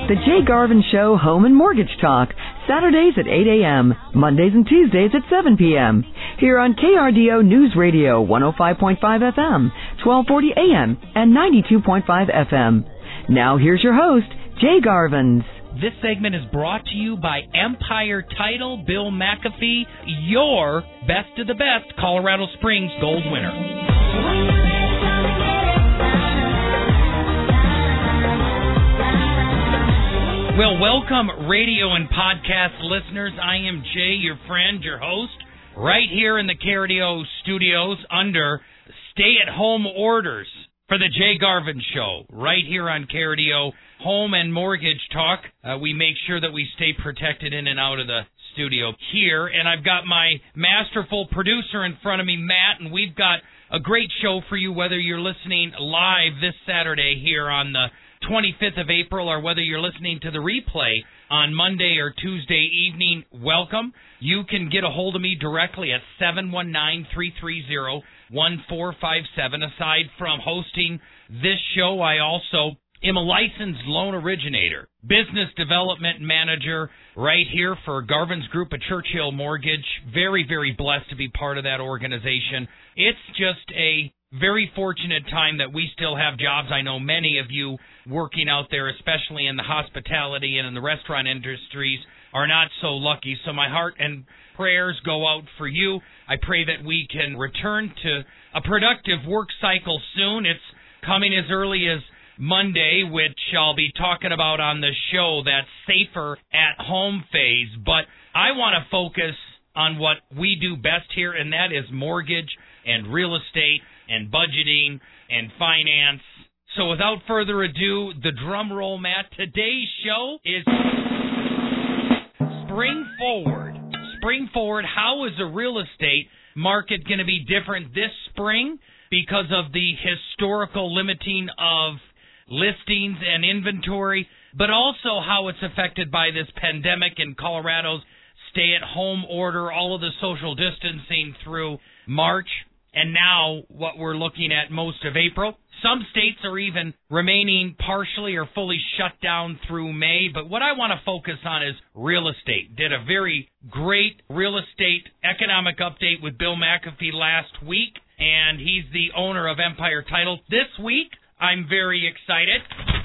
The Jay Garvin Show Home and Mortgage Talk, Saturdays at 8 a.m., Mondays and Tuesdays at 7 p.m. Here on KRDO News Radio 105.5 FM, 1240 AM, and 92.5 FM. Now here's your host, Jay Garvins. This segment is brought to you by Empire Title, Bill McAfee, your best of the best Colorado Springs Gold winner. Well, welcome, radio and podcast listeners. I am Jay, your friend, your host, right here in the KRDO studios under stay-at-home orders for the Jay Garvin Show, right here on KRDO Home and Mortgage Talk. We make sure that we stay protected in and out of the studio here, and I've got my masterful producer in front of me, Matt, and we've got a great show for you, whether you're listening live this Saturday here on the 25th of April, or whether you're listening to the replay on Monday or Tuesday evening. Welcome. You can get a hold of me directly at 719-330-1457. Aside from hosting this show, I also am a licensed loan originator, business development manager right here for Garvin's Group at Churchill Mortgage. Very, very blessed to be part of that organization. It's just a very fortunate time that we still have jobs. I know many of you working out there, especially in the hospitality and in the restaurant industries, are not so lucky. So my heart and prayers go out for you. I pray that we can return to a productive work cycle soon. It's coming as early as Monday, which I'll be talking about on the show, that safer at home phase. But I want to focus on what we do best here, and that is mortgage and real estate and budgeting and finance. So without further ado, the drum roll, Matt. Today's show is Spring Forward. Spring Forward, how is the real estate market going to be different this spring because of the historical limiting of listings and inventory, but also how it's affected by this pandemic and Colorado's stay-at-home order, all of the social distancing through March, and now what we're looking at most of April. Some states are even remaining partially or fully shut down through May, but what I want to focus on is real estate. Did a very great real estate economic update with Bill McAfee last week, and he's the owner of Empire Title. This week, I'm very excited.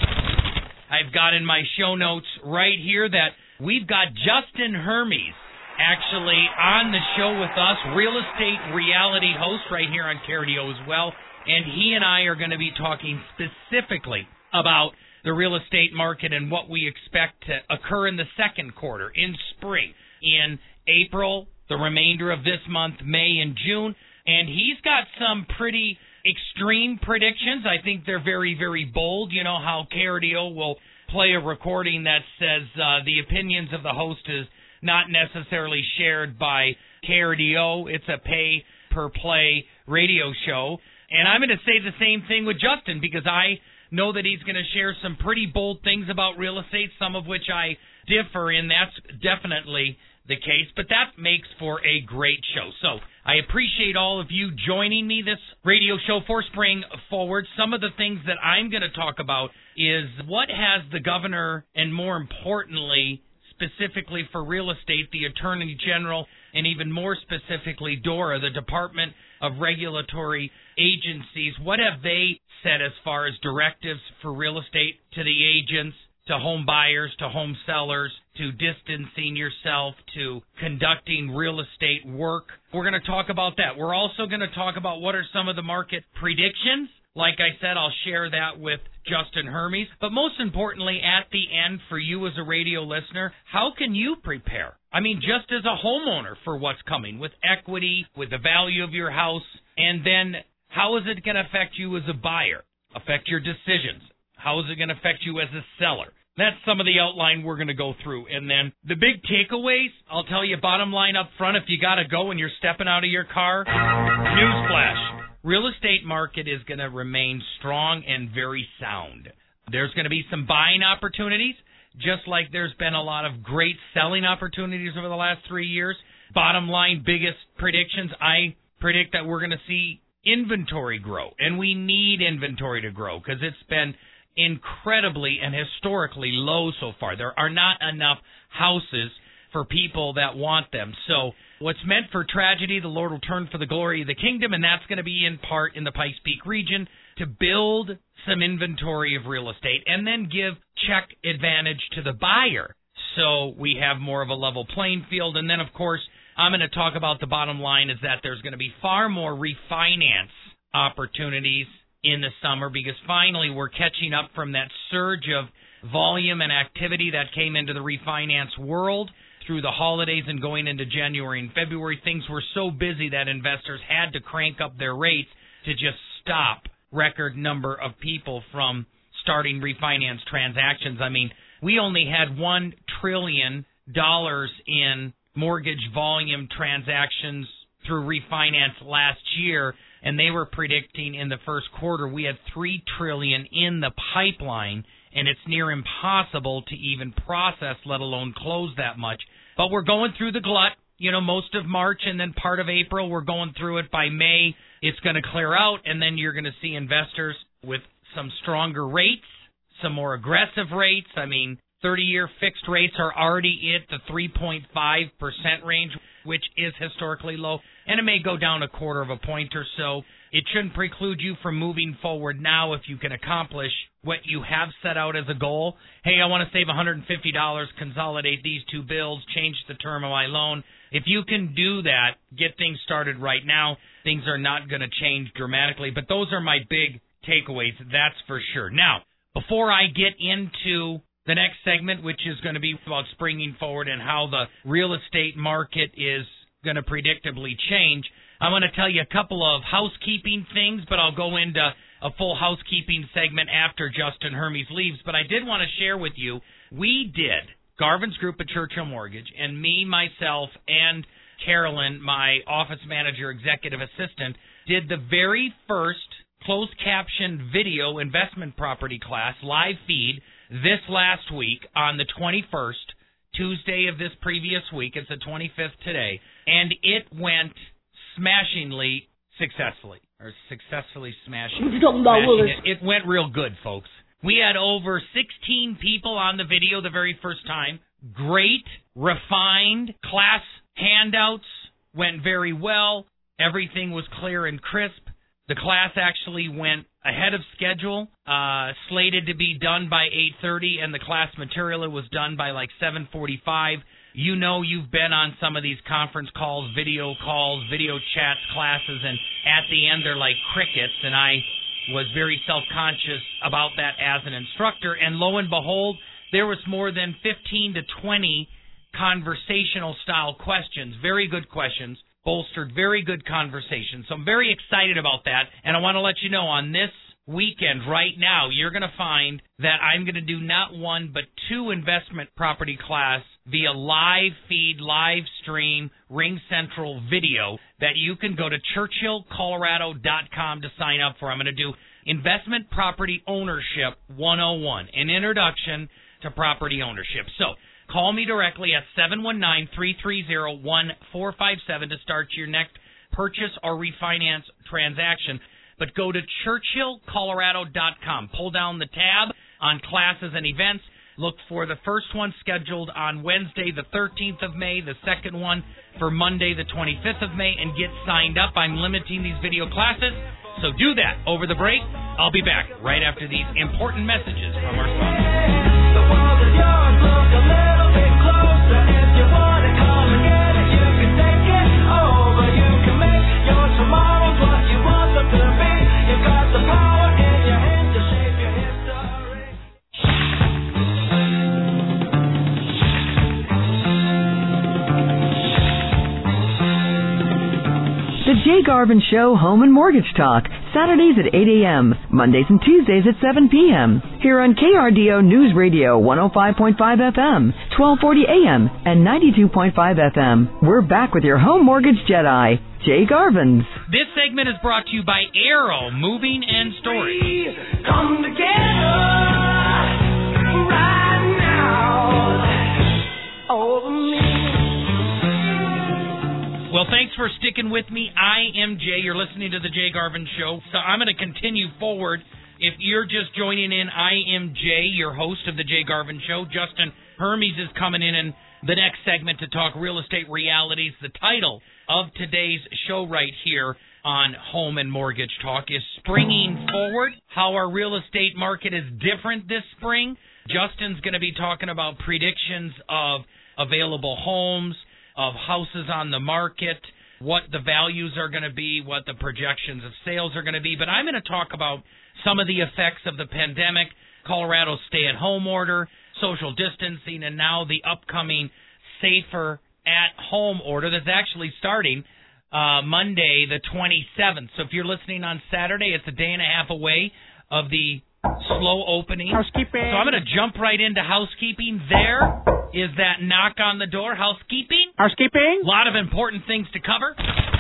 I've got in my show notes right here that we've got Justin Hermes actually on the show with us, real estate reality host right here on KRDO as well. And he and I are going to be talking specifically about the real estate market and what we expect to occur in the second quarter, in spring, in April, the remainder of this month, May and June. And he's got some pretty extreme predictions. I think they're very, very bold. You know how KRDO will play a recording that says the opinions of the host is not necessarily shared by KRDO. It's a pay-per-play radio show. And I'm going to say the same thing with Justin because I know that he's going to share some pretty bold things about real estate, some of which I differ in. That's definitely the case, but that makes for a great show. So I appreciate all of you joining me this radio show for Spring Forward. Some of the things that I'm going to talk about is what has the governor, and more importantly, specifically for real estate, the Attorney General, and even more specifically, DORA, the Department of Regulatory Agencies, what have they said as far as directives for real estate to the agents, to home buyers, to home sellers, to distancing yourself, to conducting real estate work? We're going to talk about that. We're also going to talk about what are some of the market predictions. Like I said, I'll share that with Justin Hermes. But most importantly, at the end, for you as a radio listener, how can you prepare? I mean, just as a homeowner for what's coming, with equity, with the value of your house, and then how is it going to affect you as a buyer, affect your decisions? How is it going to affect you as a seller? That's some of the outline we're going to go through. And then the big takeaways, I'll tell you bottom line up front, if you got to go and you're stepping out of your car, newsflash. Real estate market is going to remain strong and very sound. There's going to be some buying opportunities, just like there's been a lot of great selling opportunities over the last 3 years. Bottom line, biggest predictions, I predict that we're going to see inventory grow, and we need inventory to grow because it's been incredibly and historically low so far. There are not enough houses for people that want them. So what's meant for tragedy, the Lord will turn for the glory of the kingdom, and that's going to be in part in the Pikes Peak region to build some inventory of real estate and then give check advantage to the buyer so we have more of a level playing field. And then, of course, I'm going to talk about the bottom line is that there's going to be far more refinance opportunities in the summer because finally we're catching up from that surge of volume and activity that came into the refinance world through the holidays and going into January and February. Things were so busy that investors had to crank up their rates to just stop record number of people from starting refinance transactions. I mean, we only had $1 trillion in mortgage volume transactions through refinance last year, and they were predicting in the first quarter we had $3 trillion in the pipeline, and it's near impossible to even process, let alone close that much. But we're going through the glut, most of March and then part of April. We're going through it. By May, it's going to clear out, and then you're going to see investors with some stronger rates, some more aggressive rates. I mean, 30-year fixed rates are already at the 3.5% range, which is historically low, and it may go down a quarter of a point or so. It shouldn't preclude you from moving forward now if you can accomplish what you have set out as a goal. Hey, I want to save $150, consolidate these two bills, change the term of my loan. If you can do that, get things started right now, things are not going to change dramatically. But those are my big takeaways, that's for sure. Now, before I get into the next segment, which is going to be about springing forward and how the real estate market is going to predictably change, I want to tell you a couple of housekeeping things, but I'll go into a full housekeeping segment after Justin Hermes leaves. But I did want to share with you, we did, Garvin's Group at Churchill Mortgage, and me, myself, and Carolyn, my office manager, executive assistant, did the very first closed caption video investment property class, live feed, this last week on the 21st, Tuesday of this previous week. It's the 25th today. And it went smashingly successfully smashing. It went real good, folks. We had over 16 people on the video the very first time. Great, refined class handouts, went very well. Everything was clear and crisp. The class actually went ahead of schedule, slated to be done by 8:30, and the class material was done by like 7:45. You know you've been on some of these conference calls, video chats, classes, and at the end they're like crickets, and I was very self-conscious about that as an instructor. And lo and behold, there was more than 15 to 20 conversational-style questions, very good questions, bolstered very good conversation. So I'm very excited about that, and I want to let you know on this weekend right now, you're going to find that I'm going to do not one but two investment property class via live feed, live stream, Ring Central video that you can go to churchillcolorado.com to sign up for. I'm going to do Investment Property Ownership 101, an introduction to property ownership. So call me directly at 719-330-1457 to start your next purchase or refinance transaction. But go to churchillcolorado.com. Pull down the tab on classes and events. Look for the first one scheduled on Wednesday, the 13th of May, the second one for Monday, the 25th of May, and get signed up. I'm limiting these video classes, so do that over the break. I'll be back right after these important messages from our sponsors. The world is yours, look a little bit closer. If you want to come and get it, you can take it over. You can make your tomorrows what you want them to be. You've got the power in your hands to shape your history. The Jay Garvin Show Home and Mortgage Talk, Saturdays at 8 a.m., Mondays and Tuesdays at 7 p.m. Here on KRDO News Radio 105.5 FM, 1240 a.m., and 92.5 FM. We're back with your home mortgage Jedi, Jay Garvins. This segment is brought to you by Arrow Moving and Storage. Come together right now over me. Well, thanks for sticking with me. I am Jay. You're listening to the Jay Garvin Show. So I'm going to continue forward If you're just joining in, I am Jay, your host of the Jay Garvin Show. Justin Hermes is coming in the next segment to talk real estate realities. The title of today's show right here on Home and Mortgage Talk is Springing Forward, how our real estate market is different this spring. Justin's going to be talking about predictions of available homes, of houses on the market, what the values are going to be, what the projections of sales are going to be. But I'm going to talk about some of the effects of the pandemic, Colorado's stay-at-home order, social distancing, and now the upcoming safer at-home order that's actually starting Monday the 27th. So if you're listening on Saturday, it's a day and a half away of the slow opening. Housekeeping. So I'm going to jump right into housekeeping. There is that knock on the door. Housekeeping. Housekeeping. A lot of important things to cover.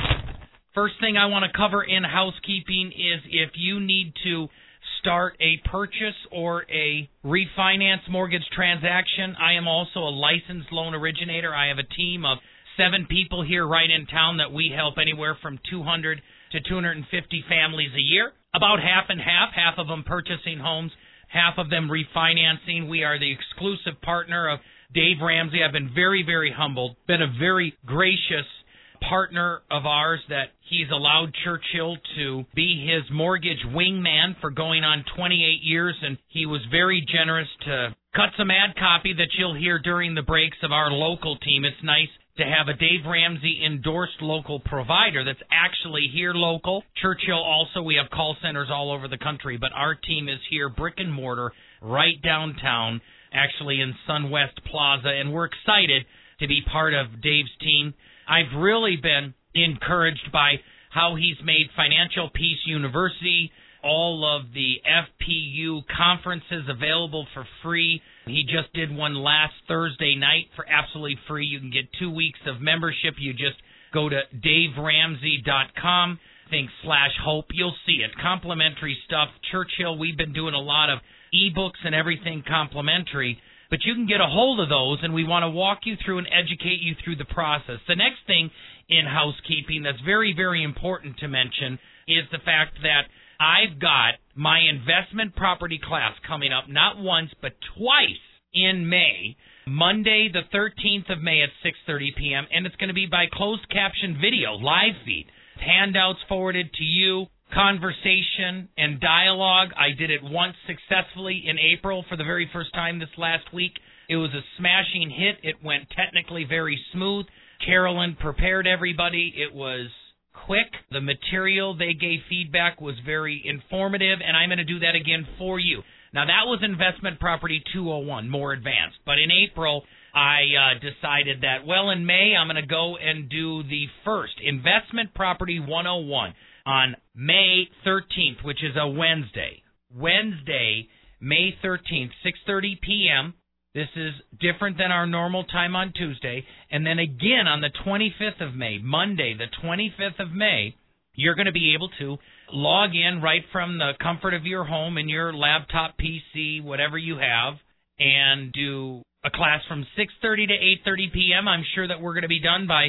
First thing I want to cover in housekeeping is if you need to start a purchase or a refinance mortgage transaction, I am also a licensed loan originator. I have a team of 7 people here right in town that we help anywhere from 200 to 250 families a year. About half and half of them purchasing homes, half of them refinancing. We are the exclusive partner of Dave Ramsey. I've been very, very humbled, been a very gracious partner of ours that he's allowed Churchill to be his mortgage wingman for going on 28 years, and he was very generous to cut some ad copy that you'll hear during the breaks of our local team. It's nice to have a Dave Ramsey endorsed local provider that's actually here local. Churchill also, we have call centers all over the country, but our team is here, brick and mortar, right downtown, actually in SunWest Plaza, and we're excited to be part of Dave's team. I've really been encouraged by how he's made Financial Peace University, all of the FPU conferences available for free. He just did one last Thursday night for absolutely free. You can get 2 weeks of membership. You just go to daveramsey.com, /hope. You'll see it. Complimentary stuff. Churchill, we've been doing a lot of ebooks and everything complimentary, but you can get a hold of those, and we want to walk you through and educate you through the process. The next thing in housekeeping that's very, very important to mention is the fact that I've got my investment property class coming up not once but twice in May, Monday the 13th of May at 6:30 p.m., and it's going to be by closed caption video, live feed, handouts forwarded to you, conversation and dialogue. I did it once successfully in April for the very first time this last week. It was a smashing hit. It went technically very smooth. Carolyn prepared everybody. It was quick. The material they gave feedback was very informative, and I'm going to do that again for you. Now, that was Investment Property 201, more advanced. But in April, I decided that, well, in May, I'm going to go and do the first Investment Property 101 on May 13th, which is a Wednesday. Wednesday, May 13th, 6:30 p.m., This is different than our normal time on Tuesday. And then again on the 25th of May, Monday, the 25th of May, you're going to be able to log in right from the comfort of your home and your laptop, PC, whatever you have, and do a class from 6:30 to 8:30 p.m. I'm sure that we're going to be done by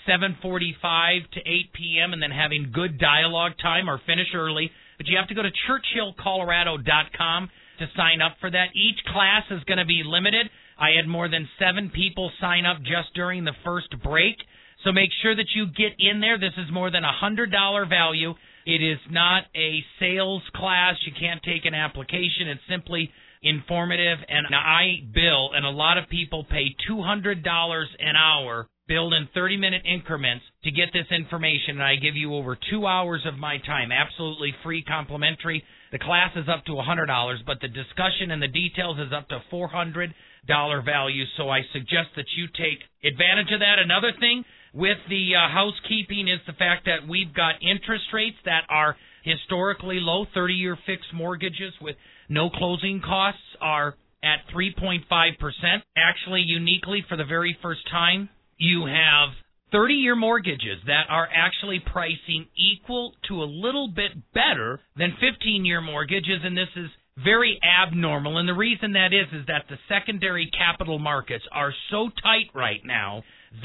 7:45 to 8 p.m. and then having good dialogue time or finish early. But you have to go to churchillcolorado.com to sign up for that. Each class is going to be limited. I had more than 7 people sign up just during the first break. So make sure that you get in there. This is more than $100 value. It is not a sales class. You can't take an application. It's simply informative. And I bill, and a lot of people pay $200 an hour, billed in 30-minute increments to get this information. And I give you over 2 hours of my time, absolutely free, complimentary. The class is up to $100, but the discussion and the details is up to $400 value. So I suggest that you take advantage of that. Another thing with the housekeeping is the fact that we've got interest rates that are historically low. 30-year fixed mortgages with no closing costs are at 3.5%. Actually, uniquely, for the very first time, you have 30-year mortgages that are actually pricing equal to a little bit better than 15-year mortgages, and this is very abnormal. And the reason that is that the secondary capital markets are so tight right now that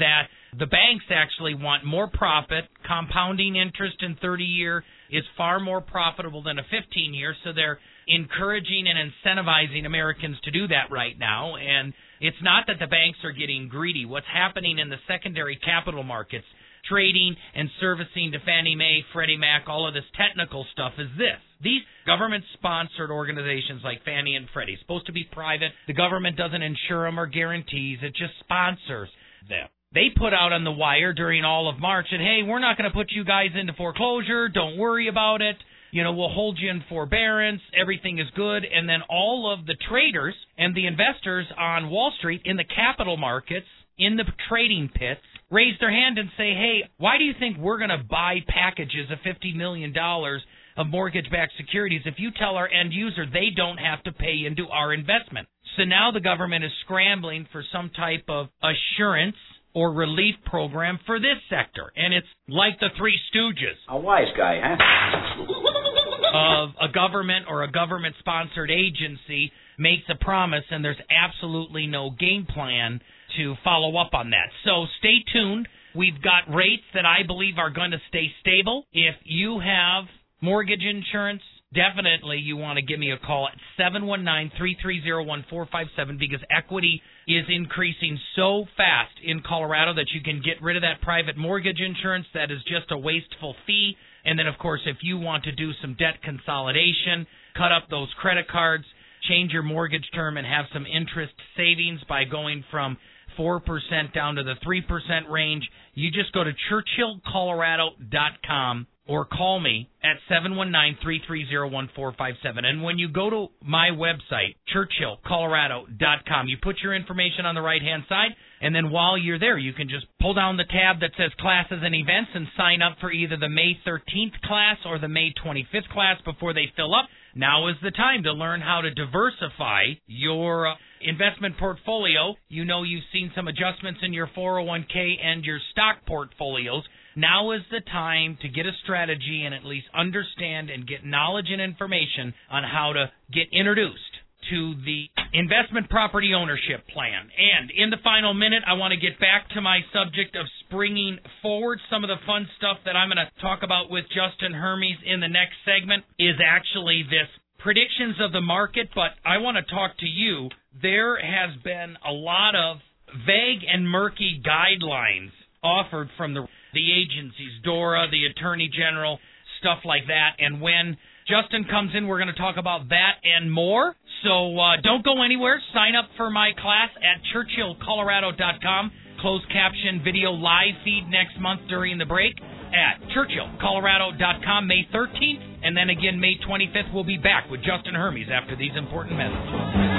The banks actually want more profit. Compounding interest in 30-year is far more profitable than a 15-year, so they're encouraging and incentivizing Americans to do that right now. And it's not that the banks are getting greedy. What's happening in the secondary capital markets, trading and servicing to Fannie Mae, Freddie Mac, all of this technical stuff is this. These government-sponsored organizations like Fannie and Freddie, supposed to be private. The government doesn't insure them or guarantees. It just sponsors them. They put out on the wire during all of March that, hey, we're not going to put you guys into foreclosure. Don't worry about it. We'll hold you in forbearance. Everything is good. And then all of the traders and the investors on Wall Street in the capital markets, in the trading pits, raise their hand and say, hey, why do you think we're going to buy packages of $50 million of mortgage-backed securities if you tell our end user they don't have to pay into our investment? So now the government is scrambling for some type of assurance or relief program for this sector. And it's like the Three Stooges. A wise guy, huh? Of a government or a government-sponsored agency makes a promise, and there's absolutely no game plan to follow up on that. So stay tuned. We've got rates that I believe are going to stay stable. If you have mortgage insurance, definitely you want to give me a call at 719-330-1457 because equity is increasing so fast in Colorado that you can get rid of that private mortgage insurance that is just a wasteful fee. And then, of course, if you want to do some debt consolidation, cut up those credit cards, change your mortgage term and have some interest savings by going from 4% down to the 3% range, you just go to churchillcolorado.com or call me at 719-330-1457. And when you go to my website, churchillcolorado.com, you put your information on the right-hand side, and then while you're there, you can just pull down the tab that says Classes and Events and sign up for either the May 13th class or the May 25th class before they fill up. Now is the time to learn how to diversify your investment portfolio. You've seen some adjustments in your 401k and your stock portfolios. Now is the time to get a strategy and at least understand and get knowledge and information on how to get introduced to the investment property ownership plan. And in the final minute, I want to get back to my subject of springing forward. Some of the fun stuff that I'm going to talk about with Justin Hermes in the next segment is actually this predictions of the market, but I want to talk to you. There has been a lot of vague and murky guidelines offered from the agencies, DORA, the Attorney General, stuff like that. And when Justin comes in, we're going to talk about that and more. So don't go anywhere. Sign up for my class at churchillcolorado.com. Closed caption video live feed next month during the break at churchillcolorado.com May 13th. And then again May 25th, we'll be back with Justin Hermes after these important messages.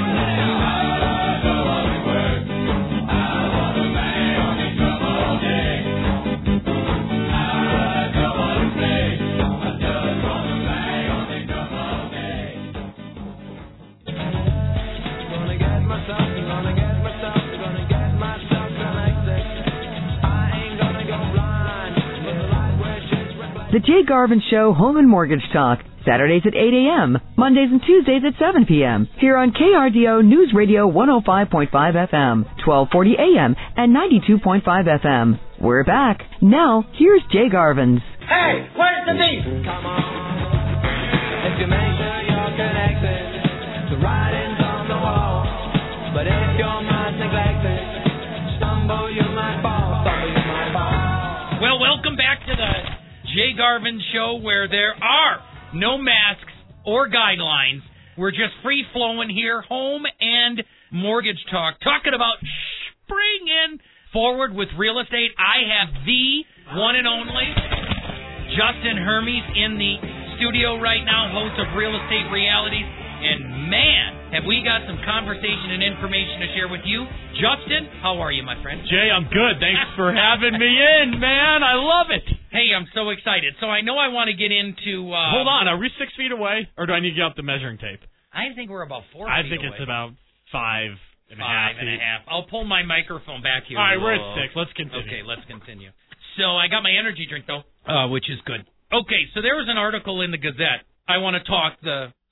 The Jay Garvin Show Home and Mortgage Talk, Saturdays at 8 a.m., Mondays and Tuesdays at 7 p.m., here on KRDO News Radio 105.5 FM, 1240 a.m., and 92.5 FM. We're back. Now, here's Jay Garvin's. Hey, where's the beef? Come on, if you make sure you're connected, the writing's on the wall. But if your mind's neglected, stumble you might fall, Well, welcome back to the Jay Garvin Show, where there are no masks or guidelines. We're just free-flowing here, home and mortgage talk, talking about springing forward with real estate. I have the one and only Justin Hermes in the studio right now, host of Real Estate Realities. And man, have we got some conversation and information to share with you. Justin, how are you, my friend? Jay, I'm good. Thanks for having me in, man. I love it. Hey, I'm so excited. So I know I want to get into... Hold on. Are we 6 feet away, or do I need to get out the measuring tape? I think we're about 4 feet I think away. It's about 5 and a half feet. I'll pull my microphone back here. All right, we're at 6. Let's continue. Okay, let's continue. So I got my energy drink, though, which is good. Okay, so there was an article in the Gazette. I want to talk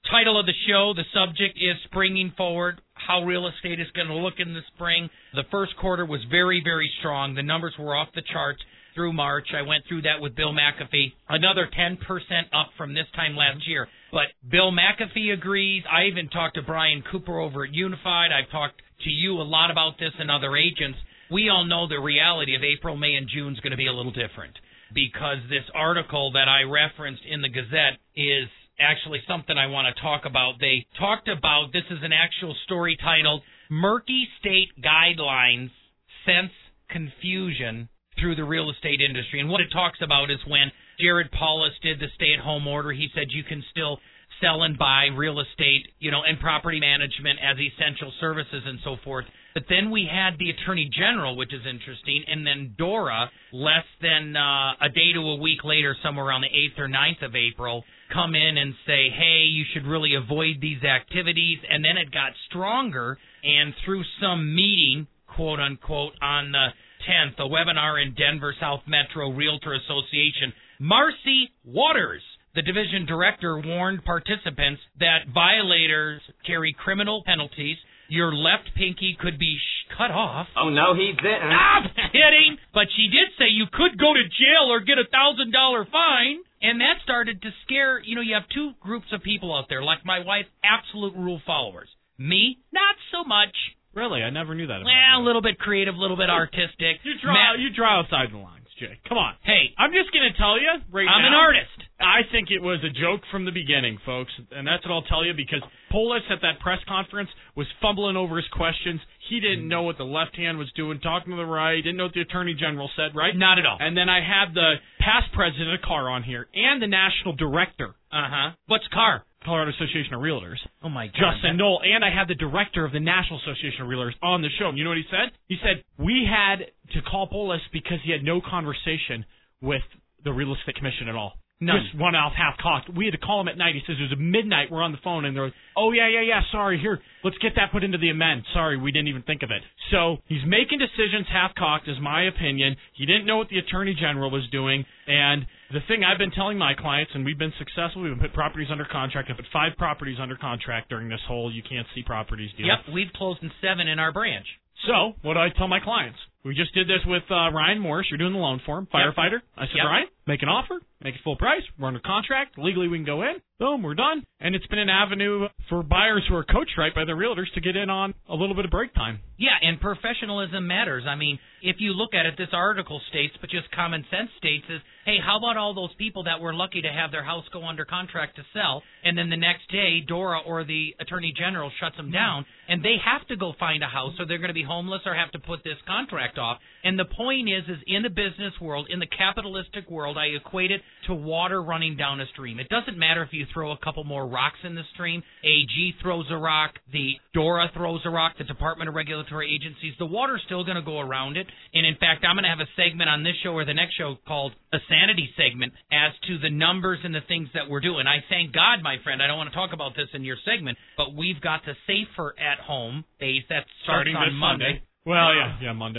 Title of the show, the subject is Springing Forward, how real estate is going to look in the spring. The first quarter was very, very strong. The numbers were off the charts through March. I went through that with Bill McAfee. Another 10% up from this time last year. But Bill McAfee agrees. I even talked to Brian Cooper over at Unified. I've talked to you a lot about this and other agents. We all know the reality of April, May, and June is going to be a little different because this article that I referenced in the Gazette is actually something I want to talk about. They talked about, this is an actual story titled, Murky State Guidelines Sense Confusion Through the Real Estate Industry. And what it talks about is when Jared Paulus did the stay-at-home order, he said you can still sell and buy real estate, and property management as essential services and so forth. But then we had the Attorney General, which is interesting, and then DORA, less than a day to a week later, somewhere around the 8th or 9th of April, come in and say, hey, you should really avoid these activities. And then it got stronger, and through some meeting, quote-unquote, on the 10th, a webinar in Denver South Metro Realtor Association, Marcy Waters, the division director, warned participants that violators carry criminal penalties. Your left pinky could be cut off. Oh, no, he didn't. I'm kidding. But she did say you could go to jail or get a $1,000 fine. And that started to scare, you have two groups of people out there, like my wife, absolute rule followers. Me, not so much. Really? I never knew that about Well, you. a little bit creative, a little bit artistic. You draw outside the lines, Jay. Come on. Hey, I'm just going to tell you right I'm now. an artist. I think it was a joke from the beginning, folks, and that's what I'll tell you, because Polis at that press conference was fumbling over his questions. He didn't know what the left hand was doing, talking to the right, didn't know what the Attorney General said, right? Not at all. And then I had the past president of CAR on here and the national director. What's CAR? Colorado Association of Realtors. Oh, my God. Justin Knoll, and I had the director of the National Association of Realtors on the show. And you know what he said? He said, we had to call Polis because he had no conversation with the Real Estate Commission at all. None. Just one mouth, half cocked. We had to call him at night. He says it was midnight. We're on the phone, and they're like, oh, yeah, sorry, here, let's get that put into the amend. Sorry, we didn't even think of it. So he's making decisions half-cocked, is my opinion. He didn't know what the Attorney General was doing, and the thing I've been telling my clients, and we've been successful, we've put properties under contract. I've put 5 properties under contract during this whole you can't see properties deal. Yep, we've closed in 7 in our branch. So, what do I tell my clients? We just did this with Ryan Morris. You're doing the loan for him, firefighter. I said, Ryan, make an offer, make it full price. We're under contract. Legally, we can go in. Boom, we're done. And it's been an avenue for buyers who are coached right by their realtors to get in on a little bit of break time. Yeah, and professionalism matters. I mean, if you look at it, this article states, but just common sense states is, hey, how about all those people that were lucky to have their house go under contract to sell, and then the next day Dora or the Attorney General shuts them down, and they have to go find a house, or they're going to be homeless or have to put this contract off. And the point is in the business world, in the capitalistic world, I equate it to water running down a stream. It doesn't matter if you throw a couple more rocks in the stream. AG throws a rock. The DORA throws a rock. The Department of Regulatory Agencies. The water's still going to go around it. And, in fact, I'm going to have a segment on this show or the next show called a sanity segment as to the numbers and the things that we're doing. I thank God, my friend, I don't want to talk about this in your segment, but we've got the Safer at Home base that starts Starting on this Monday. Well, yeah, Monday.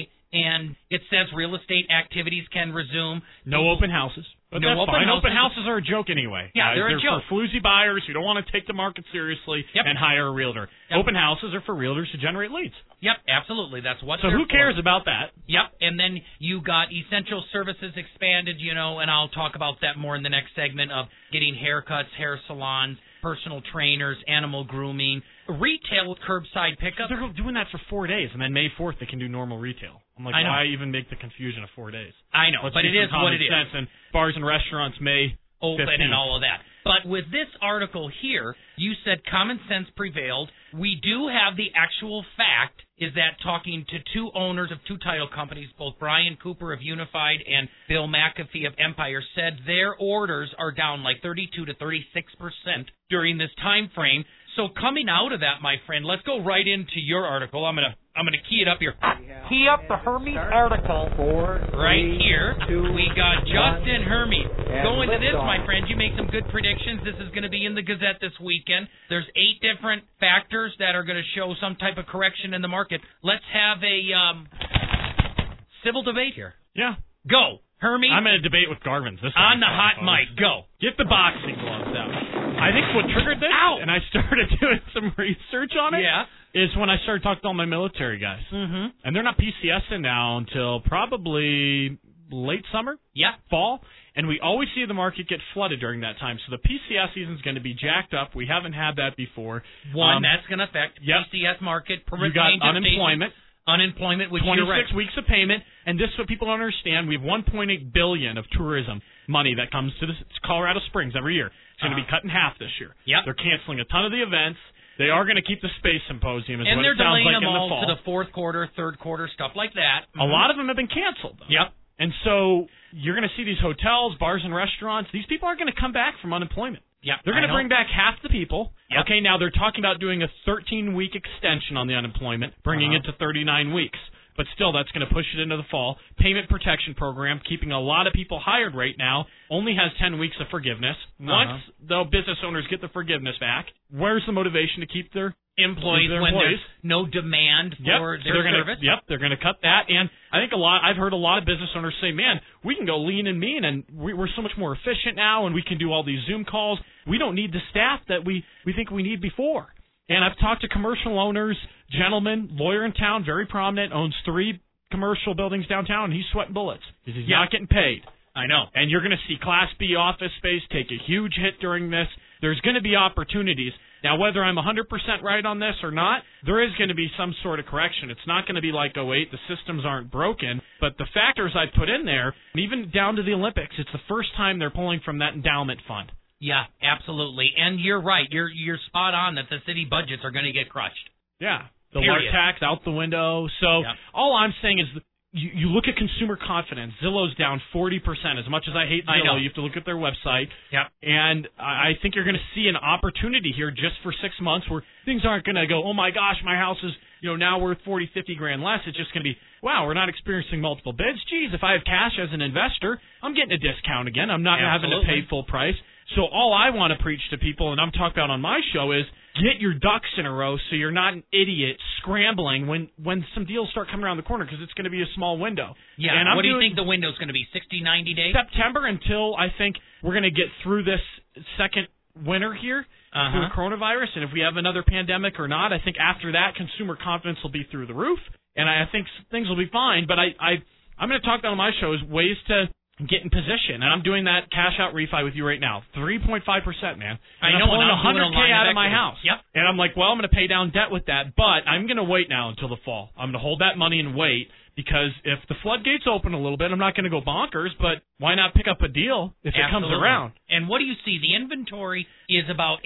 And it says real estate activities can resume. No open houses. But No that's open fine. houses. Open houses are a joke anyway. Yeah, they're a joke. for floozy buyers who don't want to take the market seriously and hire a realtor. Yep. Open houses are for realtors to generate leads. Yep, absolutely. That's what So they're who cares for. about that? Yep, and then you got essential services expanded, and I'll talk about that more in the next segment of getting haircuts, hair salons, personal trainers, animal grooming, retail curbside pickup. They're doing that for 4 days, and then May 4th they can do normal retail. I'm like, I know. why even make the confusion of 4 days? I know, Let's but use it some is common what it is. sense, and bars and restaurants may Open 15th. and all of that. But with this article here, you said common sense prevailed. We do have the actual fact is that talking to 2 owners of 2 title companies, both Brian Cooper of Unified and Bill McAfee of Empire, said their orders are down like 32 to 36% during this time frame. So coming out of that, my friend, let's go right into your article. I'm gonna key it up here. Key up the Hermes article right here. We got Justin Hermes. Go into this, my friend. You make some good predictions. This is going to be in the Gazette this weekend. There's 8 different factors that are going to show some type of correction in the market. Let's have a civil debate here. Yeah. Go, Hermes. I'm in a debate with Garvin's this time. On the hot mic. Go. Get the boxing gloves out. I think what triggered this, and I started doing some research on it, is when I started talking to all my military guys. Mm-hmm. And they're not PCSing now until probably late summer, fall. And we always see the market get flooded during that time. So the PCS season is going to be jacked up. We haven't had that before. That's going to affect PCS market. You got unemployment. Unemployment, which 26 weeks of payment, and this is what people don't understand. We have $1.8 billion of tourism money that comes to Colorado Springs every year. It's going to be cut in half this year. They're canceling a ton of the events. They are going to keep the Space Symposium, is what it sounds like, in the fall. And they're delaying them all to the fourth quarter, third quarter, stuff like that. A lot of them have been canceled, though. And so you're going to see these hotels, bars, and restaurants. These people aren't going to come back from unemployment. They're going to bring back half the people. Okay, now they're talking about doing a 13-week extension on the unemployment, bringing it to 39 weeks. But still, that's going to push it into the fall. Payment protection program, keeping a lot of people hired right now, only has 10 weeks of forgiveness. Once the business owners get the forgiveness back, where's the motivation to keep their employees when there's no demand for their service? They're going to cut that. And I think I've heard a lot of business owners say, man, we can go lean and mean, and we're so much more efficient now, and we can do all these Zoom calls. We don't need the staff that we think we need before. And I've talked to commercial owners, gentleman, lawyer in town, very prominent, owns 3 commercial buildings downtown, and he's sweating bullets because he's not getting paid. I know. And you're going to see Class B office space take a huge hit during this. There's going to be opportunities. Now, whether I'm 100% right on this or not, there is going to be some sort of correction. It's not going to be like 08. The systems aren't broken. But the factors I put in there, even down to the Olympics, it's the first time they're pulling from that endowment fund. Yeah, absolutely. And you're right. You're spot on that the city budgets are going to get crushed. Yeah. The water tax out the window. So all I'm saying is you look at consumer confidence. Zillow's down 40%. As much as I hate Zillow, you have to look at their website. And I think you're going to see an opportunity here just for 6 months where things aren't going to go, oh, my gosh, my house is now worth 40, 50 grand less. It's just going to be, wow, we're not experiencing multiple bids. Geez, if I have cash as an investor, I'm getting a discount again. I'm not having to pay full price. So all I want to preach to people, and I'm talking about on my show, is get your ducks in a row so you're not an idiot scrambling when some deals start coming around the corner because it's going to be a small window. Yeah, and what do you think the window's going to be, 60, 90 days? September until I think we're going to get through this second winter here through the coronavirus, and if we have another pandemic or not, I think after that consumer confidence will be through the roof, and I think things will be fine. But I'm going to talk about on my show is ways to get in position, and I'm doing that cash out refi with you right now, 3.5%, man. And I'm pulling $100K out of my house. And I'm like, well, I'm going to pay down debt with that, but I'm going to wait now until the fall. I'm going to hold that money and wait because if the floodgates open a little bit, I'm not going to go bonkers, but why not pick up a deal if it comes around? And what do you see? The inventory is about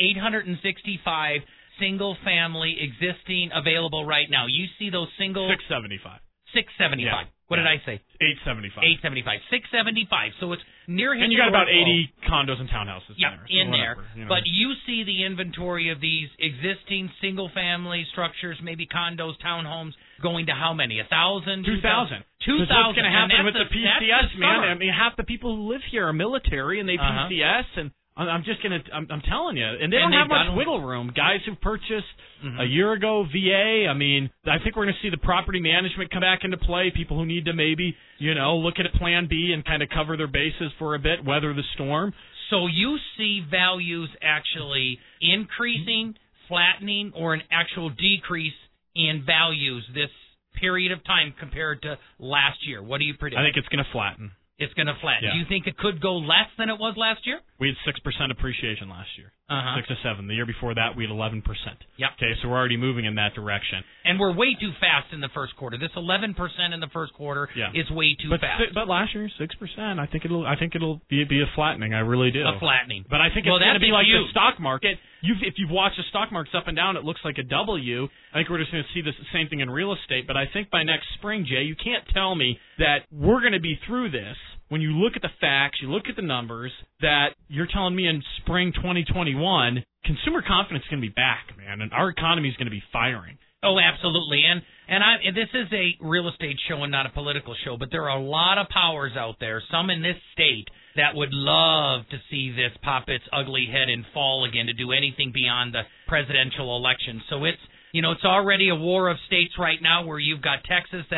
865 single-family existing available right now. You see those single... 675. 675. Yeah. What did I say? 875. 875. 675. So it's near historical. And you got about 80 condos and townhouses in there. But you see the inventory of these existing single-family structures, maybe condos, townhomes, going to how many? 1,000? 2,000. 2,000. What's going to happen with the PCS, man? I mean, half the people who live here are military, and they PCS, and I'm telling you, and they don't have much wiggle room. Guys who purchased a year ago VA, I mean, I think we're going to see the property management come back into play. People who need to maybe, look at a plan B and kind of cover their bases for a bit, weather the storm. So you see values actually increasing, flattening, or an actual decrease in values this period of time compared to last year. What do you predict? I think it's going to flatten. It's going to flatten. Do you think it could go less than it was last year? We had 6% appreciation last year. 6 to 7. The year before that, we had 11%. Yep. Okay, so we're already moving in that direction. And we're way too fast in the first quarter. This 11% in the first quarter is way too fast. But last year, 6%. I think it'll be a flattening. I really do. A flattening. But I think it's going to be like the stock market. If you've watched the stock markets up and down, it looks like a W. I think we're just going to see the same thing in real estate. But I think by next spring, Jay, you can't tell me that we're going to be through this. When you look at the facts, you look at the numbers, that you're telling me in spring 2021, consumer confidence is going to be back, man, and our economy is going to be firing. Oh, absolutely. And this is a real estate show and not a political show, but there are a lot of powers out there, some in this state, that would love to see this pop its ugly head and fall again to do anything beyond the presidential election. So it's already a war of states right now where you've got Texas that is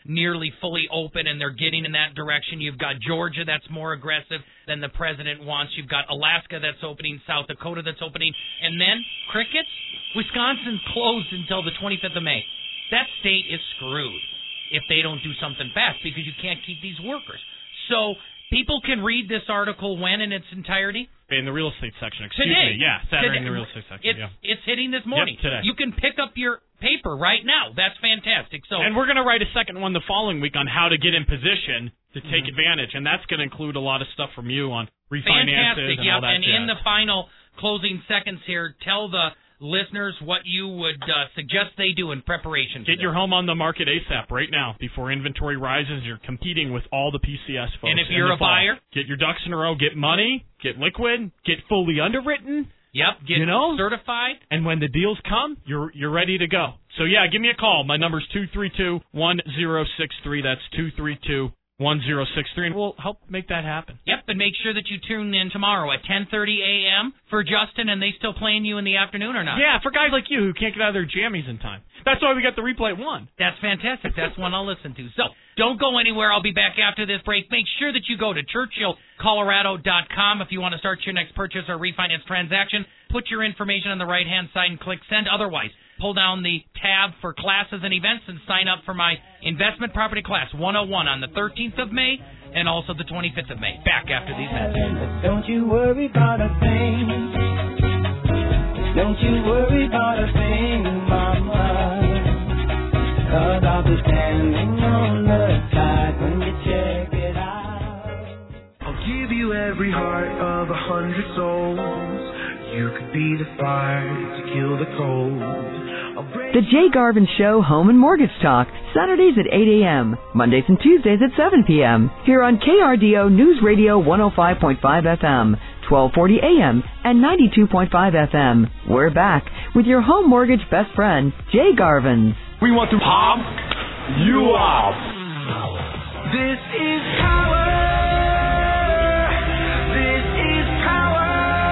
nearly fully open, and they're getting in that direction. You've got Georgia that's more aggressive than the president wants. You've got Alaska that's opening, South Dakota that's opening, and then crickets. Wisconsin closed until the 25th of May. That state is screwed if they don't do something fast because you can't keep these workers. So people can read this article when in its entirety? In the real estate section, today. Yeah, Saturday today. in the real estate section. It's hitting this morning. Yep, today. You can pick up your paper right now. That's fantastic. So, and we're going to write a second one the following week on how to get in position to take advantage, and that's going to include a lot of stuff from you on refinances and all that and jazz. in the final closing seconds here, tell the listeners what you would suggest they do in preparation. Get your home on the market ASAP right now before inventory rises. You're competing with all the PCS folks. And if you're a buyer, get your ducks in a row, get money, get liquid, get fully underwritten. Yep, get certified. And when the deals come, you're ready to go. So yeah, give me a call. My number's 232-1063. That's 232-1063, and we'll help make that happen. Yep, and make sure that you tune in tomorrow at 10:30 a.m. for Justin. And they still playing you in the afternoon or not? Yeah, for guys like you who can't get out of their jammies in time. That's why we got the replay at 1. That's fantastic. That's one I'll listen to. So don't go anywhere. I'll be back after this break. Make sure that you go to ChurchillColorado.com if you want to start your next purchase or refinance transaction. Put your information on the right-hand side and click send. Otherwise, pull down the tab for classes and events and sign up for my investment property class 101 on the 13th of May and also the 25th of May. Back after these messages. Don't you worry about a thing. Don't you worry about a thing, Mama. 'Cause I'll be standing on the side when you check it out. I'll give you every heart of 100 souls. You could be the fire to kill the cold. The Jay Garvin Show Home and Mortgage Talk, Saturdays at 8 a.m., Mondays and Tuesdays at 7 p.m., here on KRDO News Radio 105.5 FM, 1240 a.m., and 92.5 FM. We're back with your home mortgage best friend, Jay Garvin. We want to pop you off. This is power. This is power.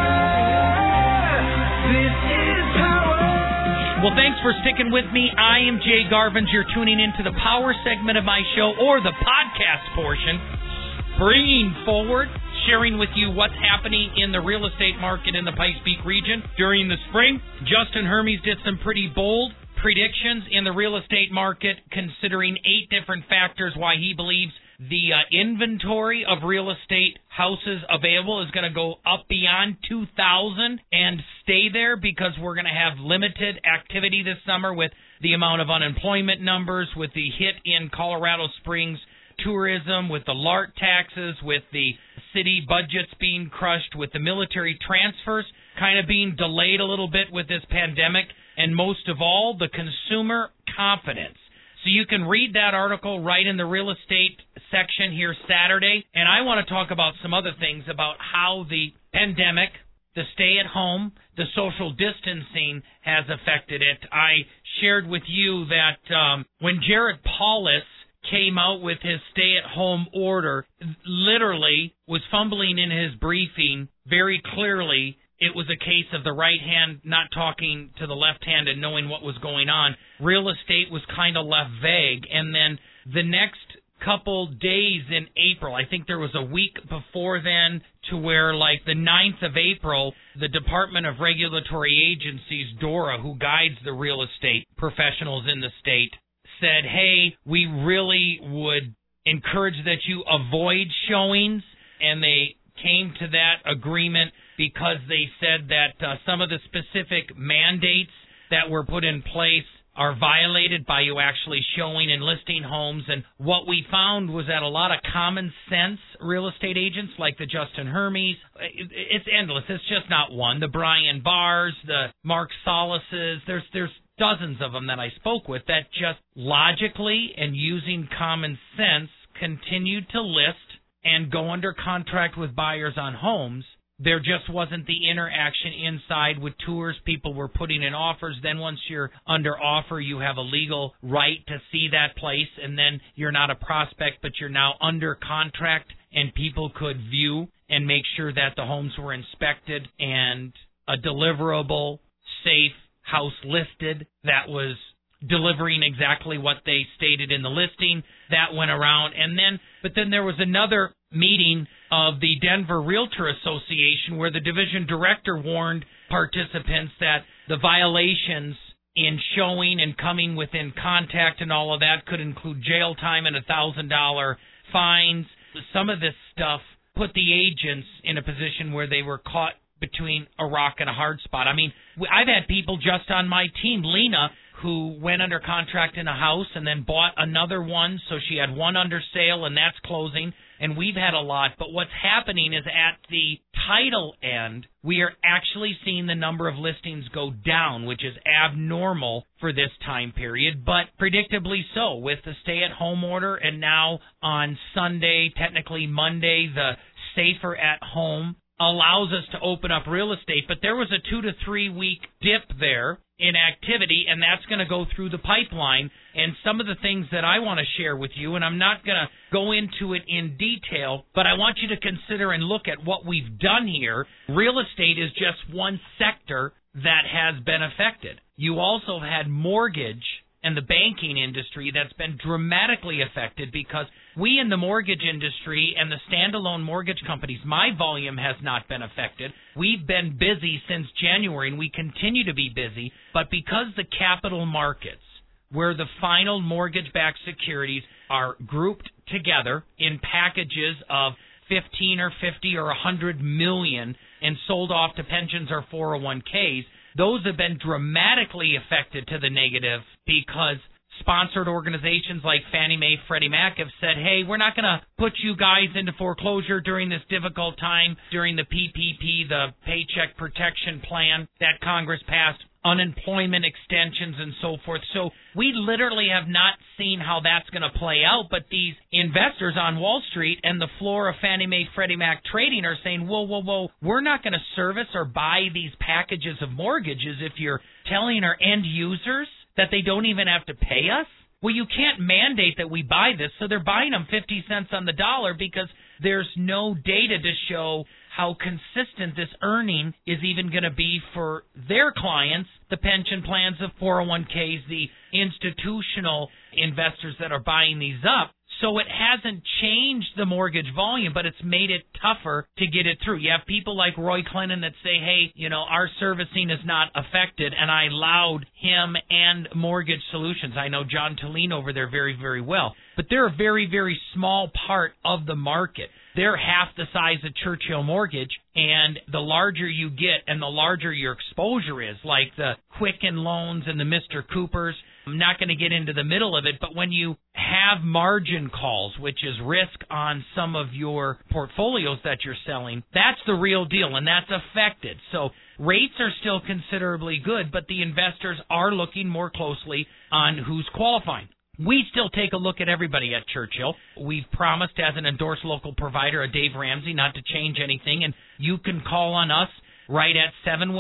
This is power. Well, thanks for sticking with me. I am Jay Garvin. You're tuning into the power segment of my show, or the podcast portion, bringing forward, sharing with you what's happening in the real estate market in the Pikes Peak region during the spring. Justin Hermes did some pretty bold predictions in the real estate market, considering 8 different factors why he believes the inventory of real estate houses available is going to go up beyond 2,000 and stay there because we're going to have limited activity this summer with the amount of unemployment numbers, with the hit in Colorado Springs tourism, with the LART taxes, with the city budgets being crushed, with the military transfers kind of being delayed a little bit with this pandemic, and most of all, the consumer confidence. So you can read that article right in the real estate section here Saturday. And I want to talk about some other things about how the pandemic, the stay-at-home, the social distancing has affected it. I shared with you that when Jared Paulus came out with his stay-at-home order, literally was fumbling in his briefing very clearly. It was a case of the right hand not talking to the left hand and knowing what was going on. Real estate was kind of left vague. And then the next couple days in April, I think there was a week before then, to where like the 9th of April, the Department of Regulatory Agencies, DORA, who guides the real estate professionals in the state, said, hey, we really would encourage that you avoid showings. And they came to that agreement because they said that some of the specific mandates that were put in place are violated by you actually showing and listing homes. And what we found was that a lot of common sense real estate agents like the Justin Hermes, it's endless. It's just not one. The Brian Barrs, the Mark Solises, there's dozens of them that I spoke with that just logically and using common sense continued to list and go under contract with buyers on homes. There just wasn't the interaction inside with tours. People were putting in offers. Then once you're under offer, you have a legal right to see that place, and then you're not a prospect, but you're now under contract, and people could view and make sure that the homes were inspected and a deliverable, safe house listed that was delivering exactly what they stated in the listing. That went around. But then there was another meeting of the Denver Realtor Association where the division director warned participants that the violations in showing and coming within contact and all of that could include jail time and $1,000 fines. Some of this stuff put the agents in a position where they were caught between a rock and a hard spot. I mean, I've had people just on my team, Lena, who went under contract in a house and then bought another one, so she had one under sale and that's closing, and we've had a lot. But what's happening is at the title end, we are actually seeing the number of listings go down, which is abnormal for this time period, but predictably so with the stay-at-home order, and now on Sunday, technically Monday, the safer at home allows us to open up real estate. But there was a 2 to 3 week dip there in activity, and that's going to go through the pipeline. And some of the things that I want to share with you, and I'm not going to go into it in detail, but I want you to consider and look at what we've done here. Real estate is just one sector that has been affected. You also had mortgage and the banking industry that's been dramatically affected, because we in the mortgage industry and the standalone mortgage companies, my volume has not been affected. We've been busy since January, and we continue to be busy. But because the capital markets, where the final mortgage-backed securities are grouped together in packages of 15 or 50 or 100 million and sold off to pensions or 401ks, those have been dramatically affected to the negative, because sponsored organizations like Fannie Mae, Freddie Mac have said, hey, we're not going to put you guys into foreclosure during this difficult time, during the PPP, the Paycheck Protection Plan that Congress passed, unemployment extensions and so forth. So we literally have not seen how that's going to play out, but these investors on Wall Street and the floor of Fannie Mae, Freddie Mac trading are saying, whoa, we're not going to service or buy these packages of mortgages if you're telling our end users that they don't even have to pay us. Well, you can't mandate that we buy this, so they're buying them 50 cents on the dollar because there's no data to show how consistent this earning is even going to be for their clients, the pension plans, the 401ks, the institutional investors that are buying these up. So it hasn't changed the mortgage volume, but it's made it tougher to get it through. You have people like Roy Clinton that say, hey, our servicing is not affected, and I allowed him and Mortgage Solutions. I know John Tolene over there very, very well. But they're a very, very small part of the market. They're half the size of Churchill Mortgage, and the larger you get and the larger your exposure is, like the Quicken Loans and the Mr. Coopers. I'm not going to get into the middle of it, but when you have margin calls, which is risk on some of your portfolios that you're selling, that's the real deal, and that's affected. So rates are still considerably good, but the investors are looking more closely on who's qualifying. We still take a look at everybody at Churchill. We've promised as an endorsed local provider, a Dave Ramsey, not to change anything, and you can call on us right at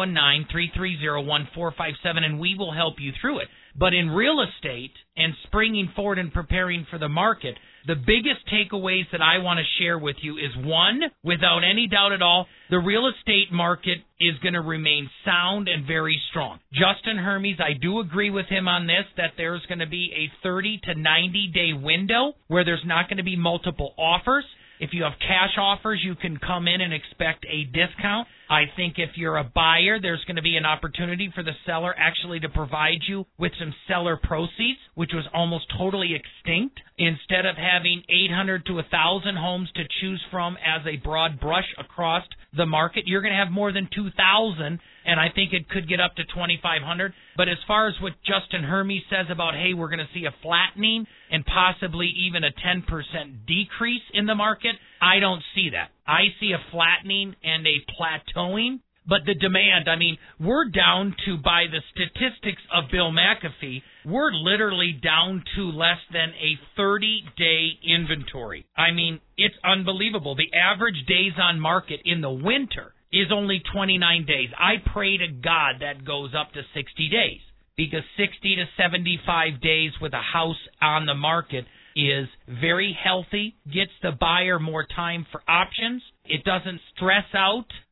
719-330-1457, and we will help you through it. But in real estate and springing forward and preparing for the market, the biggest takeaways that I want to share with you is, one, without any doubt at all, the real estate market is going to remain sound and very strong. Justin Hermes, I do agree with him on this, that there's going to be a 30 to 90-day window where there's not going to be multiple offers. If you have cash offers, you can come in and expect a discount. I think if you're a buyer, there's going to be an opportunity for the seller actually to provide you with some seller proceeds, which was almost totally extinct. Instead of having 800 to 1,000 homes to choose from as a broad brush across the market, you're going to have more than 2,000, and I think it could get up to 2,500. But as far as what Justin Hermes says about, hey, we're going to see a flattening and possibly even a 10% decrease in the market, I don't see that. I see a flattening and a plateauing. But the demand, we're down to, by the statistics of Bill McAfee, we're literally down to less than a 30-day inventory. It's unbelievable. The average days on market in the winter is only 29 days. I pray to God that goes up to 60 days, because 60 to 75 days with a house on the market is very healthy, gets the buyer more time for options. It doesn't stress out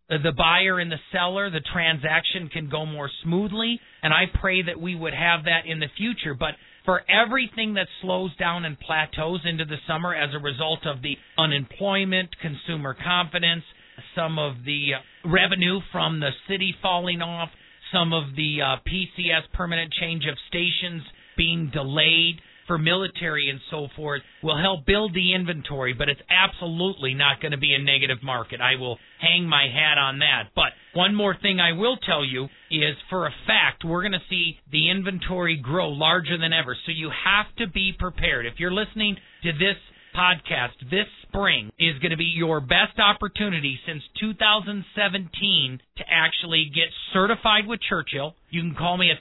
the buyer and the seller, the transaction can go more smoothly, and I pray that we would have that in the future. But for everything that slows down and plateaus into the summer as a result of the unemployment, consumer confidence, some of the revenue from the city falling off, some of the PCS, permanent change of stations, being delayed for military and so forth, will help build the inventory, but it's absolutely not going to be a negative market. I will hang my hat on that. But one more thing I will tell you is, for a fact, we're going to see the inventory grow larger than ever. So you have to be prepared. If you're listening to this podcast, this spring is going to be your best opportunity since 2017 to actually get certified with Churchill. You can call me at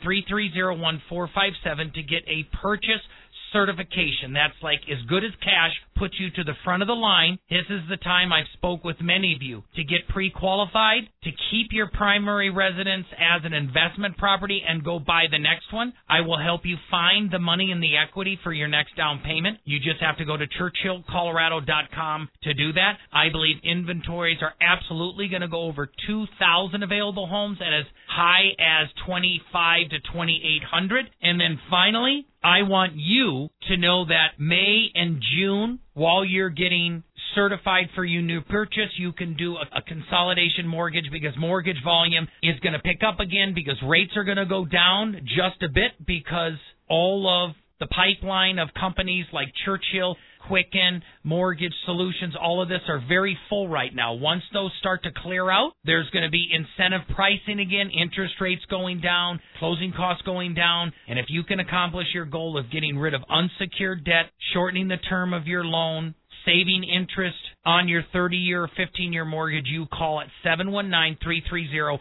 330-1457 to get a purchase certification. That's like as good as cash, puts you to the front of the line. This is the time I've spoke with many of you to get pre-qualified, to keep your primary residence as an investment property and go buy the next one. I will help you find the money and the equity for your next down payment. You just have to go to ChurchillColorado.com to do that. I believe inventories are absolutely going to go over 2,000 available homes and as high as 2,500 to 2,800. And then finally, I want you to know that May and June, while you're getting certified for your new purchase, you can do a consolidation mortgage, because mortgage volume is going to pick up again, because rates are going to go down just a bit, because all of the pipeline of companies like Churchill, Quicken, Mortgage Solutions, all of this are very full right now. Once those start to clear out, there's going to be incentive pricing again, interest rates going down, closing costs going down, and if you can accomplish your goal of getting rid of unsecured debt, shortening the term of your loan, saving interest on your 30-year or 15-year mortgage, you call at 719-330-1457,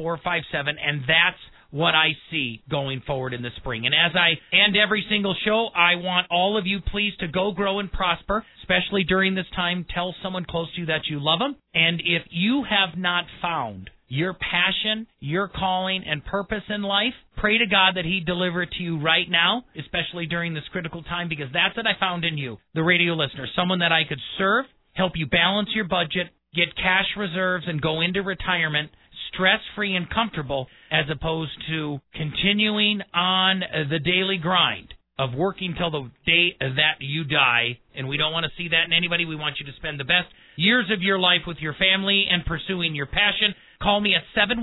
and that's what I see going forward in the spring. And as I end every single show, I want all of you please to go, grow, and prosper, especially during this time. Tell someone close to you that you love them. And if you have not found your passion, your calling, and purpose in life, pray to God that He'd deliver it to you right now, especially during this critical time, because that's what I found in you, the radio listener, someone that I could serve, help you balance your budget, get cash reserves, and go into retirement stress-free and comfortable, as opposed to continuing on the daily grind of working till the day that you die. And we don't want to see that in anybody. We want you to spend the best years of your life with your family and pursuing your passion. Call me at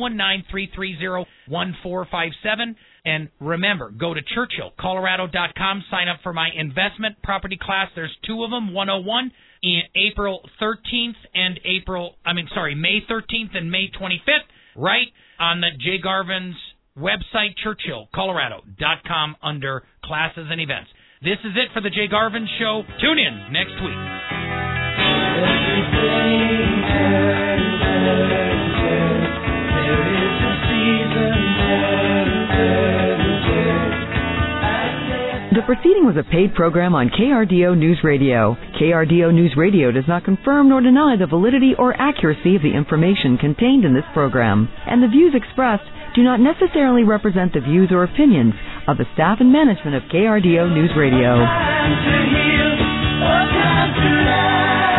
719-330-1457. And remember, go to ChurchillColorado.com. Sign up for my investment property class. There's two of them, 101, in April 13th and May 13th and May 25th, right on the Jay Garvin's website, ChurchillColorado.com, under classes and events. This is it for the Jay Garvin Show. Tune in next week. The proceeding was a paid program on KRDO News Radio. KRDO News Radio does not confirm nor deny the validity or accuracy of the information contained in this program, and the views expressed do not necessarily represent the views or opinions of the staff and management of KRDO News Radio.